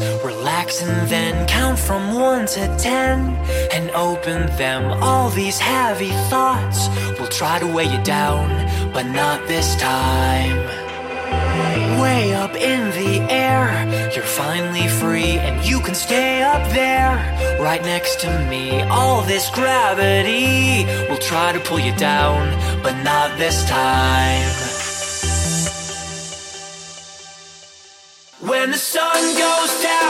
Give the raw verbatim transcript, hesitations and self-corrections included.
Relax and then count from one to ten and open them. All these heavy thoughts will try to weigh you down, but not this time. Way up in the air, you're finally free, and you can stay up there, right next to me. All this gravity will try to pull you down, but not this time. When the sun goes down